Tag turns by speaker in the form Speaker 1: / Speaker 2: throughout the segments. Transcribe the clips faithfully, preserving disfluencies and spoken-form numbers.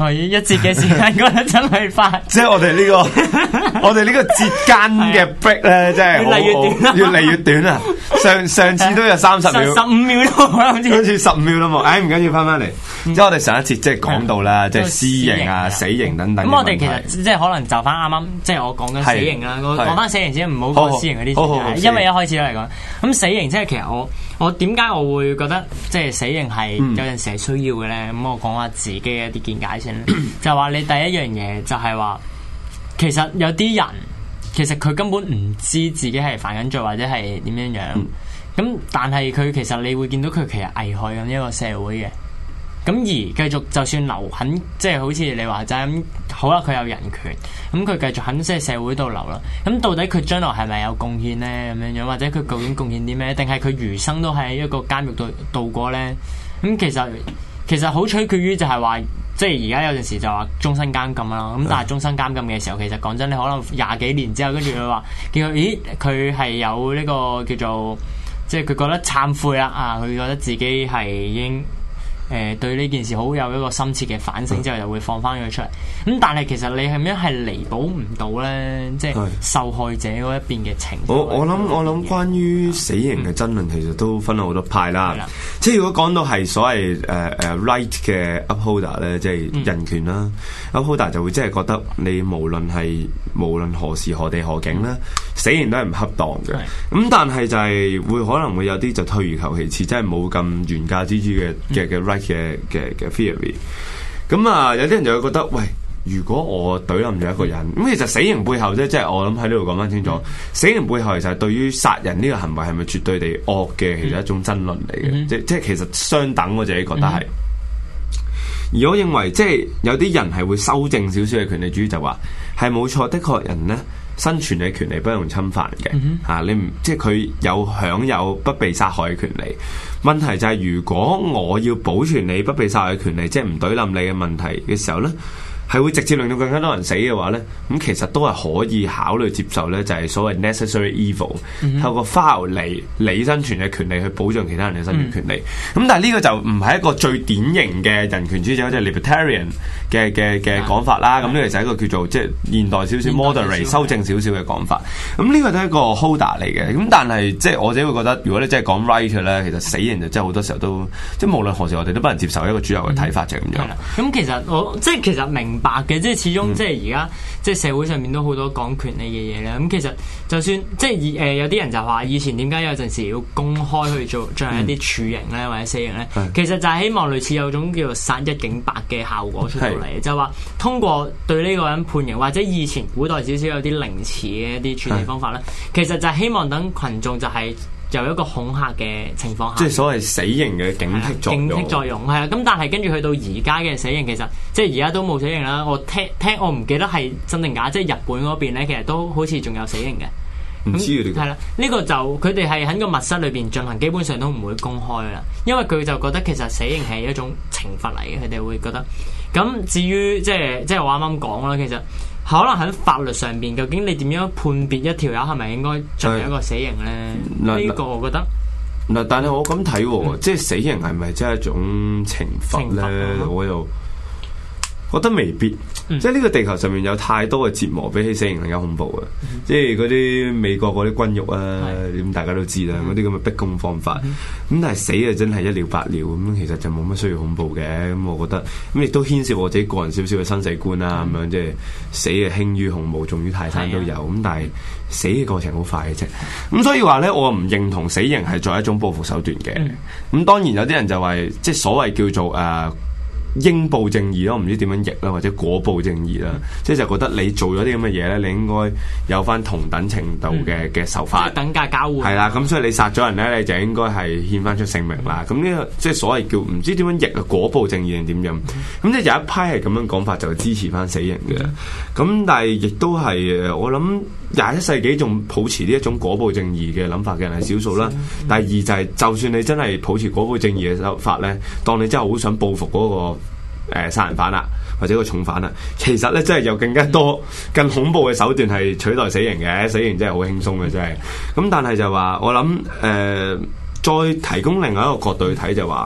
Speaker 1: 係一節嘅時間覺得真係快。
Speaker 2: 即係我哋呢、這個我哋呢個節間嘅 break 咧，真係
Speaker 1: 越嚟越短，
Speaker 2: 越嚟越短啊！上上次都有三十秒，
Speaker 1: 十五秒都冇啦，好似
Speaker 2: 好似十五秒都冇。唉，唔緊要，翻翻嚟。即係我哋上一節即係講到啦，即係私刑啊、死刑等等。
Speaker 1: 咁我哋其實即係可能就翻啱啱，即係我講緊死刑啦。我講翻死刑先，唔好講私刑嗰啲。因為一開始都嚟講，咁死刑即係其實我我點解我會覺得即係死刑係有陣時係需要嘅咧？咁我講下自己嘅一啲見解先。就話你第一樣嘢就係話，其實有啲人其實佢根本唔知自己係犯緊罪或者係點樣樣。咁、嗯、但係佢其實你會見到佢其實危害緊一個社會嘅。咁而繼續就算留喺即係好似你話齋咁，好啦，佢有人權，咁佢繼續喺即係社會度留啦。咁到底佢將來係咪有貢獻咧？咁樣樣或者佢究竟貢獻啲咩？定係佢餘生都喺一個監獄度度過咧？咁其實其實好取決於就係話，即係而家有陣時就話終身監禁啦。咁但係終身監禁嘅時候，其實講真，你可能廿幾年之後，跟住佢話叫佢，咦，佢係有呢個叫做即係佢覺得懺悔啦啊！佢覺得自己係已經。誒、呃、對呢件事好有一個深切嘅反省之後，就會放翻佢出嚟。咁但係其實你係咪係彌補唔到咧？即係受害者嗰一邊嘅情緒。
Speaker 2: 我我諗我諗關於死刑嘅爭論，其實都分咗好多派啦。嗯、即係如果講到係所謂誒誒、uh, uh, right 嘅 upholder 咧，即係人權啦、嗯、upholder 就會即係覺得你無論係無論何時何地何境咧，嗯、死刑都係唔恰當嘅。咁、嗯、但係就係會可能會有啲就退而求其次，真係冇咁原價之主嘅嘅嘅 right。嘅嘅嘅 theory， 咁啊有啲人就會覺得，喂，如果我懟冧咗一個人，咁、嗯、其實死刑背後啫，即係我諗喺呢度講翻清楚，嗯、死刑背後其實係對於殺人呢個行為係咪絕對地惡嘅，其實一種爭論嚟嘅，嗯、即即係其實相等，我自己覺得係。嗯、而我認為即係有啲人係會修正少少嘅權利主義，就話係冇錯，的確人咧生存嘅權利不容侵犯嘅，吓、嗯哼啊、你唔即係佢有享有不被殺害嘅權利。問題就係如果我要保存你不被殺害嘅權利，即係唔懟冧你嘅問題嘅時候咧，係會直接令到更加多人死嘅話咧，咁其實都係可以考慮接受咧，就係所謂 necessary evil，、嗯、哼透過 file 嚟你生存嘅權利去保障其他人嘅生存權利。咁、嗯、但係呢個就唔係一個最典型嘅人權主義者，即係 libertarian 嘅嘅嘅講法啦。咁呢個就係一個叫做即係現代少少 moderate 修正少少嘅講法。咁呢個都係一個 holder 嚟嘅。咁但係即係我自己會覺得，如果你真係講 right 咧，其實死刑就真係好多時候都即係無論何時我哋都不能接受一個主流嘅睇法，就係咁樣。
Speaker 1: 咁其實我即係其實明白嘅，即係始終即係而家即係社會上面都好多講權利嘅嘢咧。咁其實就算即係誒、呃、有啲人就話以前點解有陣時要公開去做進行一啲處刑咧或者死刑咧，嗯、其實就係希望類似有種叫做殺一儆百嘅效果出到嚟，是就話通過對呢個人判刑或者以前古代少少有啲凌遲嘅一啲處理方法咧，是其實就係希望等群眾就係有一個恐嚇嘅情況下，
Speaker 2: 即係所謂死刑嘅警惕作用。警惕作用
Speaker 1: 係啊，咁但係跟住去到而家嘅死刑，其實即係而家都冇死刑啦。我聽聽我唔記得係真定假，即係日本嗰邊咧，其實都好似仲有死刑嘅。
Speaker 2: 唔知啊，呢個係
Speaker 1: 啦，呢個就佢哋係喺個密室裏邊進行，基本上都唔會公開啦，因為佢就覺得其實死刑係一種懲罰嚟嘅，佢哋會覺得。咁至於即係即係我啱啱講啦，其實可能喺法律上邊，究竟你點樣判別一條友係咪應該進行一個死刑咧？呢、嗯、個我覺得
Speaker 2: 嗱，但係我咁睇，嗯、即係死刑係咪真係一種懲罰咧？罰我又覺得未必。嗯、即係呢個地球上面有太多嘅折磨，比起死刑更加恐怖嘅。嗯、即係嗰啲美國嗰啲軍獄啊，咁、嗯、大家都知啦，嗰啲咁嘅逼供方法。咁、嗯、但係死啊，真係一了百了咁，其實就冇乜需要恐怖嘅。咁我覺得咁亦都牽涉我自己個人少少嘅生死觀啦。咁、嗯、樣即係死啊，輕於鴻毛，重於泰山都有。咁、嗯、但係死嘅過程好快嘅啫。咁所以話咧，我唔認同死刑係作為一種報復手段嘅。咁、嗯、當然有啲人就話，即係所謂叫做誒。呃應報正義咯，唔知點樣譯啦，或者果報正義啦，嗯、即係就覺得你做咗啲咁嘅嘢咧，你應該有翻同等程度嘅嘅受罰，
Speaker 1: 嗯、等價交換。係
Speaker 2: 啦，咁所以你殺咗人咧，你就應該係獻翻出性命啦。咁呢、嗯、個即係所謂叫唔知點樣譯啊，果報正義定點樣？咁、嗯、即係有一批係咁樣講法，就支持翻死刑嘅。咁、嗯、但係亦都係我諗廿一世紀仲抱持呢一種果報正義嘅諗法嘅人係少數啦。嗯、第二就係、是、就算你真係抱持果報正義嘅手法咧，當你真係好想報復嗰、那個。誒殺人犯啦，或者個重犯啦，其實咧真係有更加多更恐怖嘅手段係取代死刑嘅，死刑真係好輕鬆嘅真係。咁但係就話我諗誒、呃，再提供另外一個角度去睇就話，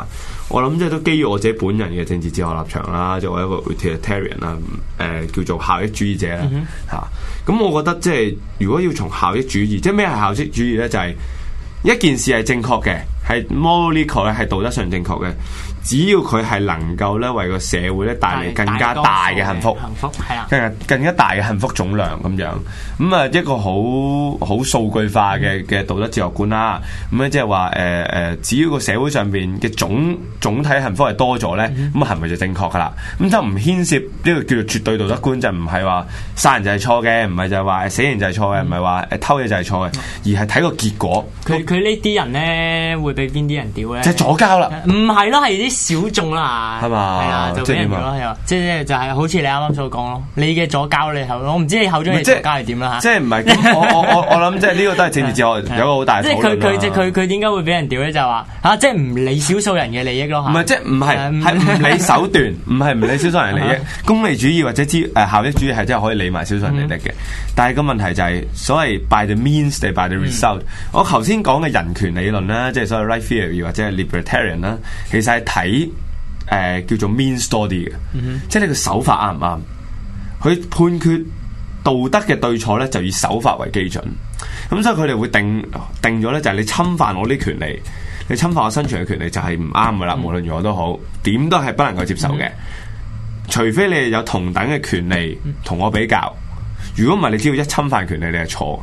Speaker 2: 我諗即係都基於我自己本人嘅政治哲學立場啦，作為一個 utilitarian 啦，誒叫做效益主義者啦嚇。咁、嗯哼啊、我覺得即係如果要從效益主義，即係咩係效益主義咧？就係、是、一件事係正確嘅，係 morally correct，係道德上正確嘅。只要佢係能夠咧為個社會咧帶嚟更加大嘅幸福，
Speaker 1: 幸福係啊，
Speaker 2: 更加更加大嘅幸福總量咁樣。咁啊一個好好數據化嘅嘅道德哲學觀啦。咁咧即係話誒誒，只要個社會上邊嘅總總體幸福係多咗咧，咁係咪就正確噶啦？咁就唔牽涉呢個叫做絕對道德觀，就唔係話殺人就係錯嘅，唔係就係話死刑就係錯嘅，唔係話誒偷嘢就係錯嘅，而係睇個結果。
Speaker 1: 佢佢呢啲人咧會俾邊啲人屌咧？
Speaker 2: 即係左膠啦，
Speaker 1: 唔係咯，係啲小眾啦，係
Speaker 2: 嘛？
Speaker 1: 係啊，就俾人屌咯，又即係就係好似你啱啱所講咯。你嘅左膠你後，我唔知你口中嘅左膠係點啦嚇。
Speaker 2: 即係唔係咁？我我我我諗即係呢個都係政治哲學有個好大討論啦。
Speaker 1: 即係佢佢即係佢佢點解會俾人屌咧？就話嚇，即係唔理少數人嘅利益咯。
Speaker 2: 唔係即係唔係係唔理手段，唔係唔理少數人利益。功利主義或者之誒效益主義係真係可以理埋少數人利益嘅。但係個問題就係所謂 by the means 定 by the result。我頭先講嘅人權理論啦，即係所謂 right theory 或者係 libertarian 啦，其實係睇。誒、呃、叫做 means 多啲嘅，嗯、哼即係你個手法啱唔啱？佢判決道德嘅對錯咧，就以手法為基準。咁所以佢哋會定定咗咧，就係你侵犯我啲權利，你侵犯我生存嘅權利就係唔啱噶啦。嗯、無論如何都好，點都係不能夠接受嘅。嗯、除非你有同等嘅權利同我比較，如果唔係，你只要一侵犯權利，你係錯。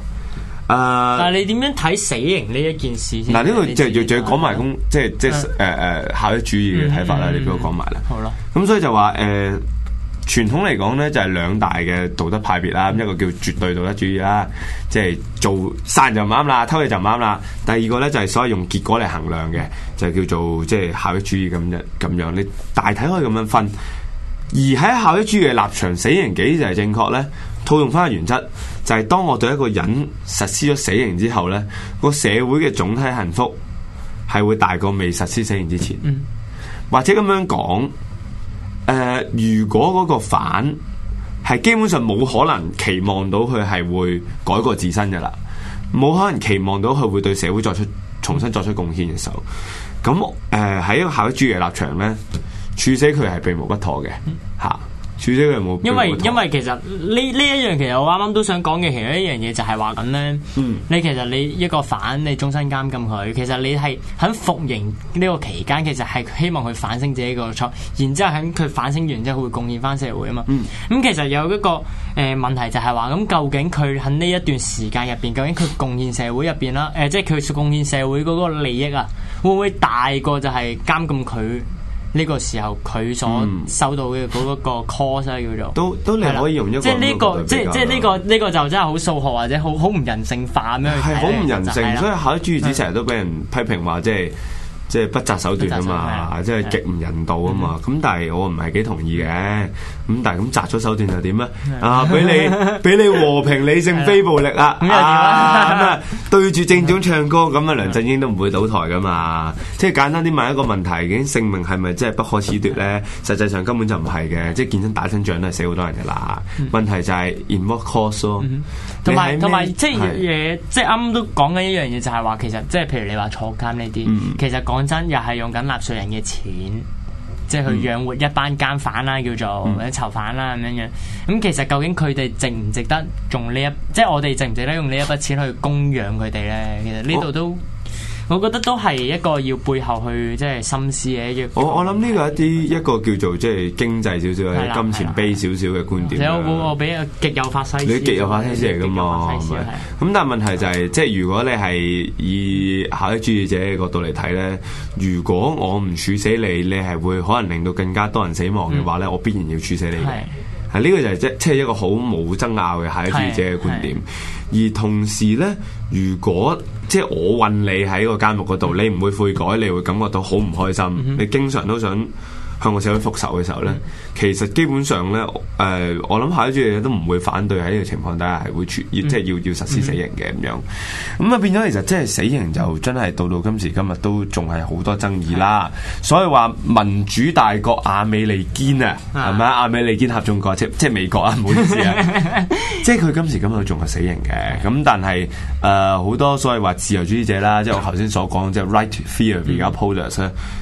Speaker 1: Uh, 但係你點樣睇死刑呢一件事先？
Speaker 2: 嗱，呢個就就就要講埋咁，即係即係誒誒效益主義嘅睇法啦。嗯、你俾我講埋啦。好啦。咁所以就話誒，傳統嚟講咧，就係兩大嘅道德派別啦。咁一個叫絕對道德主義啦，即係做殺人就唔啱啦，偷嘢就唔啱啦。第二個咧就係所謂用結果嚟衡量嘅，就係叫做即係效益主義咁樣咁樣。你大體可以咁樣分。而喺效益主義嘅立場，死刑幾就係正確咧？套用翻嘅原則就係、是、當我對一個人實施咗死刑之後咧，個社會嘅總體幸福係會大過未實施死刑之前。嗯、或者咁樣講，誒、呃，如果嗰個犯係基本上冇可能期望到佢係會改過自身嘅啦，冇可能期望到佢會對社會作出重新作出貢獻嘅時候，咁誒喺一個效益主義嘅立場咧，處死佢係避無不妥嘅嚇。嗯處死佢冇，
Speaker 1: 因為因為其實呢呢一樣其實我啱啱都想講嘅其中一樣嘢就係話緊咧，嗯、你其實你一個犯你終身監禁佢，其實你係喺服刑呢個期間，其實係希望佢反省自己個錯，然之後喺佢反省完之後會貢獻翻社會啊嘛。咁、嗯嗯、其實有一個誒、呃、問題就係話，咁究竟佢喺呢一段時間入邊，究竟佢貢獻社會入邊啦，誒、呃、即係佢貢獻社會嗰個利益啊，會唔會大過就係監禁佢？呢個時候佢所收到嘅嗰個 cost 啊，叫做
Speaker 2: 都都你可以用一個
Speaker 1: 即係呢個即係即係呢個呢個就真係好數學或者好好唔人性化咁樣，
Speaker 2: 係好唔人性，所以效益主義者成日都俾人批評話即係即係不擇手段啊嘛，即係極唔人道啊嘛。咁但係我唔係幾同意嘅。咁但係咁擇咗手段又點咧？啊，俾你俾你和平理性非暴力啊！咁啊，對住政總唱歌咁啊，梁振英都唔會倒台噶嘛。即係簡單啲問一個問題，究竟性命係咪真係不可褫奪咧？實際上根本就唔係嘅，即係見親打親仗都係死好多人嘅啦。問題就係 in what cause 咯。
Speaker 1: 同埋同埋即係嘢，即係啱啱都講緊一樣嘢，就係話其實即係譬如你話坐監呢啲，其實講真又係用緊納稅人嘅錢。即係去養活一班監犯啦，叫做或者囚犯啦咁樣樣。咁其實究竟佢哋值唔值得用呢一，即係我哋值唔值得用呢一筆錢去供養佢哋咧？其實呢度都。我覺得都係一個要背後去即係深思嘅一。我
Speaker 2: 我諗呢個一啲一個叫做即係經濟少少或者金錢卑少少嘅觀點。
Speaker 1: 我我俾個極右法西斯。你
Speaker 2: 極右法西斯嚟㗎嘛？係咪？咁但係問題就係、是，即係如果你係以效益主義者嘅角度嚟睇咧，如果我唔處死你，你係會可能令到更加多人死亡嘅話咧，嗯、我必然要處死你嘅。係呢個就係即即係一個好冇爭拗嘅效益主義者嘅觀點。而同時咧，如果即係我韞你喺個監獄嗰度，你唔會悔改，你會感覺到好唔開心，嗯、哼你經常都想向個社會復仇嘅時候咧，嗯、其實基本上咧，誒、呃，我諗效益主義者都唔會反對喺呢個情況底下係會處，嗯、即係要要實施死刑嘅咁樣。咁啊變咗，其實即係死刑就真係到到今時今日都仲係好多爭議啦。嗯、所以話民主大國亞美利堅啊，係咪啊？亞美利堅合眾國即即係美國啊，唔好意思啊，即係佢今時今日仲係死刑嘅。咁但係誒好多所謂話自由主義者啦，即係我頭先所講即係 right theory 而家 upholders 咧。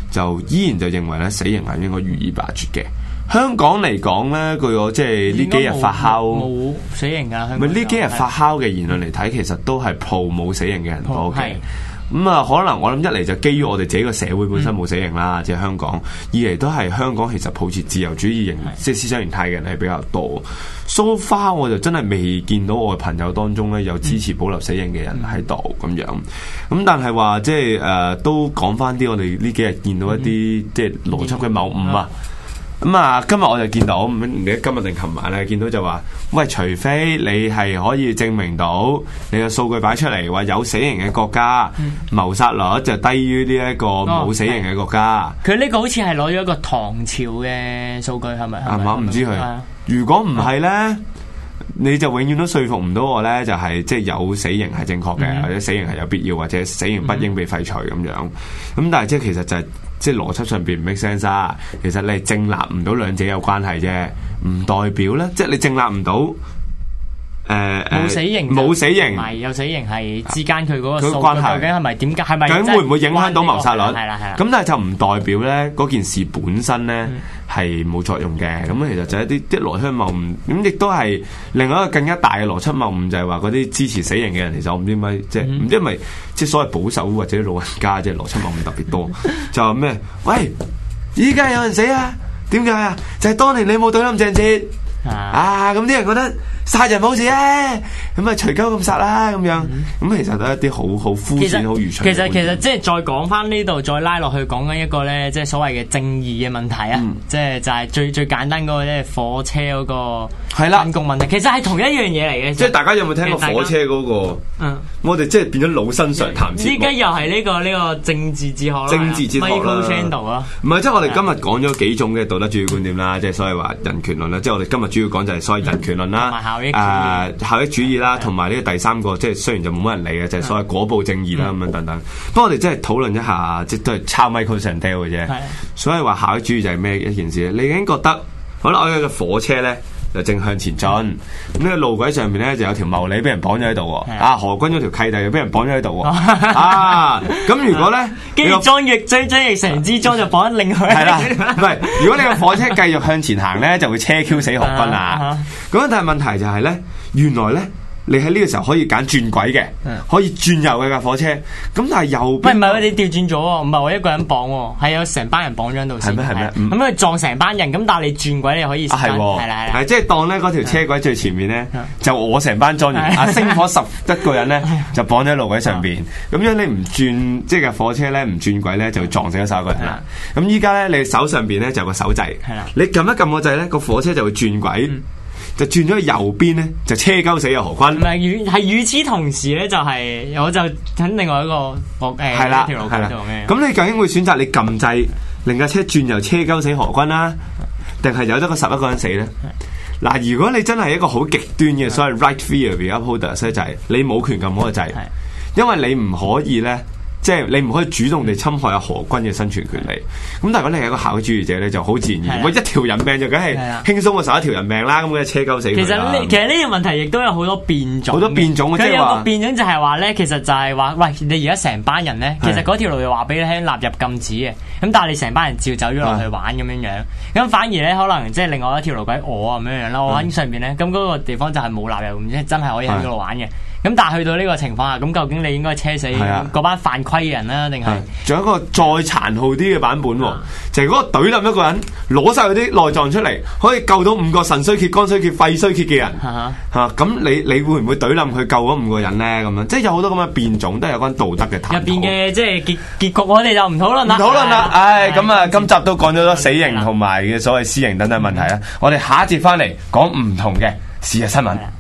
Speaker 2: 就依然就認為咧死刑係應該予以罷黜嘅。香港嚟講咧，據我即係呢幾日發酵
Speaker 1: 冇死刑㗎。
Speaker 2: 咪呢幾日發酵嘅言論嚟睇，其實都係 pro 冇死刑嘅人多嘅。咁啊、嗯，可能我諗一嚟就基於我哋自己個社會本身冇死刑啦，即係、嗯、香港；二嚟都係香港其實抱持自由主義型即係思想形態嘅人係比較多。So far 我就真係未見到我嘅朋友當中咧有支持保留死刑嘅人喺度咁樣。咁但係話即係誒都講翻啲我哋呢幾日見到一啲、嗯、即係邏輯嘅謬誤啊。咁啊、嗯，今日我就見到，唔記得今日定琴晚咧，見到就話，喂，除非你係可以證明到你嘅數據擺出嚟，話有死刑嘅國家，嗯、謀殺率就低於呢一個冇死刑嘅國家。佢呢、
Speaker 1: 哦、個好似係攞咗一個唐朝嘅數據，係咪？係
Speaker 2: 嘛？唔知佢。啊、如果唔係咧，嗯、你就永遠都說服唔到我咧，就係即係有死刑係正確嘅，嗯、或者死刑係有必要，或者死刑不應被廢除咁樣。咁、嗯、但係即係其實就係、是。即係邏輯上邊唔 make sense 啊！其實你係證立唔到兩者有關係啫，唔代表咧，即係你證立唔到誒
Speaker 1: 冇死刑，
Speaker 2: 冇死刑，
Speaker 1: 唔係有死刑係之間佢嗰個
Speaker 2: 關係
Speaker 1: 究竟係咪點解？係咪
Speaker 2: 究竟會唔會影響到謀殺率？
Speaker 1: 係啦係啦。
Speaker 2: 咁但係就唔代表咧嗰件事本身咧係冇作用嘅。咁、嗯、其實就係一啲啲邏輯謬誤。咁亦都係另外一個更加大嘅邏輯謬誤，就係話嗰啲支持死刑嘅人，其實我唔知點解，即係唔知係咪即係所謂保守或者老人家即係邏輯謬誤特別多。就話咩？喂，依家有人死啊？點解啊？就係、是、當年你冇對冧鄭捷啊！咁啲人覺得殺人冇事啊，咁啊隨鳩咁殺啦咁樣，咁、嗯、其實都係一啲好好膚淺、好愚蠢。
Speaker 1: 其實其實即係再講翻呢度，再拉落去講緊一個咧，即係所謂嘅正義嘅問題啊！嗯、即係就係最最簡單嗰個咧，火車嗰個分工問題，其實係同一樣嘢嚟嘅。
Speaker 2: 即係大家有冇聽過火車嗰、那個？嗯，我哋即係變咗老生常談節目。依家
Speaker 1: 又係呢、這個呢、這個政治哲學啦，
Speaker 2: 政治哲學啦。唔係，即係我哋今日講咗幾種嘅道德主義觀點啦，即係所謂話人權論啦。即係我哋今日主要講就係所謂人權論啦，誒、呃、效益主義啦，同埋呢個第三個，即係雖然就冇乜人理嘅，就係、是、所謂果報正義啦咁樣等等。不過我哋即係討論一下，即都係抄 Michael Sandel 嘅啫。所以話效益主義就係咩一件事咧？你已經覺得好啦，我有個火車咧。就正向前進，咁呢個路軌上面咧就有條茂利俾人綁咗喺度喎，啊何君嗰條契弟又俾人綁咗喺度喎，啊咁如果咧，
Speaker 1: 跟住裝翼追追翼成支裝就綁喺另外，
Speaker 2: 係啦，唔係如果你個火車繼續向前行咧，就會車 Q 死何君啊，咁但係問題就係咧，原來咧。你喺呢個時候可以揀轉軌嘅，可以轉右嘅架火車。咁但係右邊，
Speaker 1: 唔係唔係，你調轉咗喎，唔係我一個人綁喎，係有成班人綁咗喺度先。係咩係咩？咁佢撞成班人，咁但係你轉軌你可以。
Speaker 2: 係係啦係。係即係當咧嗰條車軌最前面咧，就我成班裝完，啊星火十一個人咧就綁咗喺路軌上邊。咁樣你唔轉，即係架火車咧唔轉軌咧，就會撞死咗十一個人啦。咁依家咧你手上邊咧就有個手掣，你撳一撳個掣咧，個火車就會轉軌。就轉咗去右邊咧，就車鳩死咗何君。
Speaker 1: 唔係與係與此同時咧，就係、是、我就喺另外一個誒
Speaker 2: 係啦
Speaker 1: 條路軌度嘅。
Speaker 2: 咁你究竟會選擇你撳掣令架車轉右車鳩死何君啦，定係有得個十一個人死咧？嗱的，如果你真係一個好極端嘅所謂 right theory upholders 咧，就係你冇權撳嗰個掣，的因為你唔可以咧。即係你唔可以主動地侵害阿何君嘅生存權利，咁但係如果你係一個效益主義者咧，就好自然而然，我一條人命就梗係輕鬆過十一條人命啦，咁嘅車鳩死佢啦。其實呢，
Speaker 1: 其實呢個問題亦都有好多變種，
Speaker 2: 好多變種。
Speaker 1: 佢有個變種就係話咧，其實就係話，喂，你而家成班人咧，其實嗰條路就話俾你聽納入禁止嘅，咁但係你成班人照走咗落去玩咁樣樣，咁反而咧可能即係另外一條路軌我咁樣樣啦，我喺上邊咧，咁嗰個地方就係冇納入，即係真係可以喺嗰度玩嘅。咁但係去到呢個情況下，咁究竟你應該車死嗰班犯規嘅人啦，定係？
Speaker 2: 仲有一個再殘酷啲嘅版本，啊、就係嗰個懟冧一個人，攞晒佢啲內臟出嚟，可以救到五個腎衰竭、肝衰竭、肺衰竭嘅人。吓咁、啊啊、你你會唔會懟冧佢救嗰五個人咧？咁樣即係有好多咁嘅變種，都係有關道德嘅探討。
Speaker 1: 入邊嘅即係結結局，我哋就唔討論啦。
Speaker 2: 唔討論啦，唉，咁啊，今集都講咗多死刑同埋嘅所謂私刑等等問題啦。我哋下一節翻嚟講唔同嘅事實新聞。